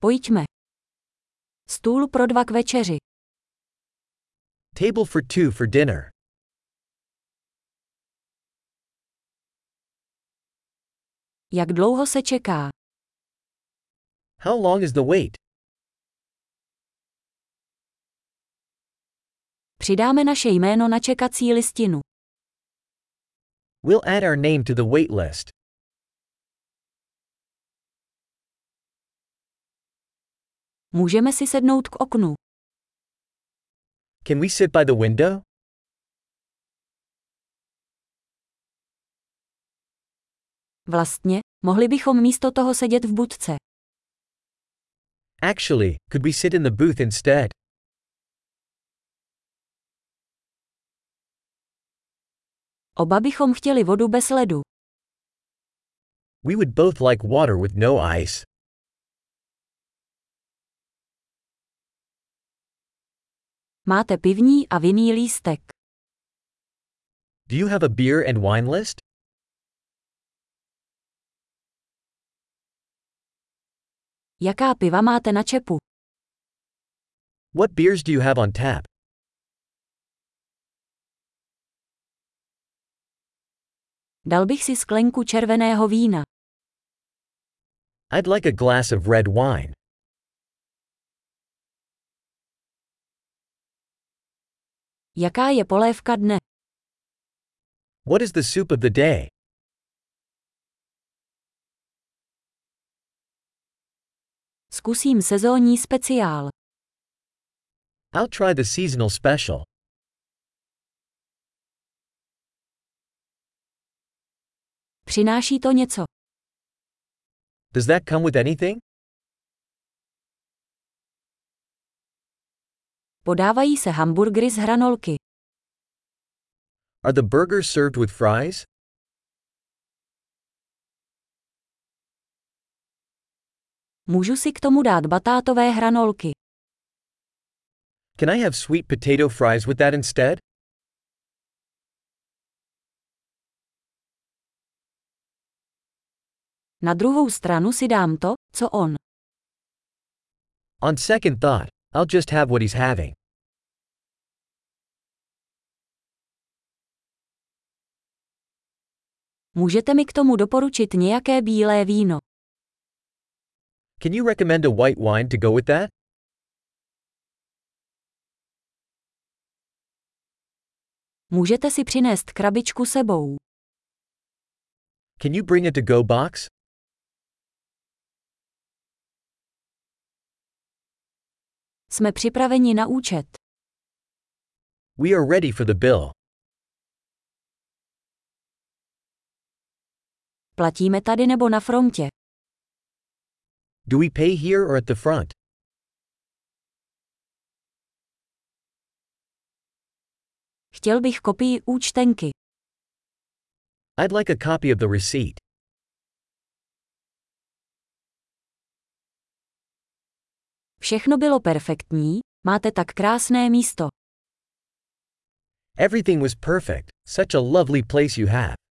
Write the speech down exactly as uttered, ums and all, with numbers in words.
Pojďme. Stůl pro dva k večeři. Table for two for dinner. Jak dlouho se čeká? How long is the wait? Přidáme naše jméno na čekací listinu. We'll add our name to the wait list. Můžeme si sednout k oknu. Can we sit by the window? Vlastně, mohli bychom místo toho sedět v budce. Actually, could we sit in the booth instead? Oba bychom chtěli vodu bez ledu. We would both like water with no ice. Máte pivní a vinný lístek. Do you have a beer and wine list? Jaká piva máte na čepu? What beers do you have on tap? Dal bych si sklenku červeného vína. I'd like a glass of red wine. Jaká je polévka dne? What is the soup of the day? Zkusím sezónní speciál. I'll try the seasonal special. Přináší to něco? Does that come with anything? Podávají se hamburgery z hranolky. Are the burgers served with fries? Můžu si k tomu dát batátové hranolky. Can I have sweet potato fries with that instead? Na druhou stranu si dám to, co on. On second thought, I'll just have what he's having. Můžete mi k tomu doporučit nějaké bílé víno? Can you recommend a white wine to go with that? Můžete si přinést krabičku sebou. Can you bring a to-go box? Jsme připraveni na účet. We are ready for the bill. Platíme tady nebo na frontě? Do we pay here or at the front? Chtěl bych kopii účtenky. I'd like a copy of the receipt. Všechno bylo perfektní, máte tak krásné místo. Everything was perfect, such a lovely place you have.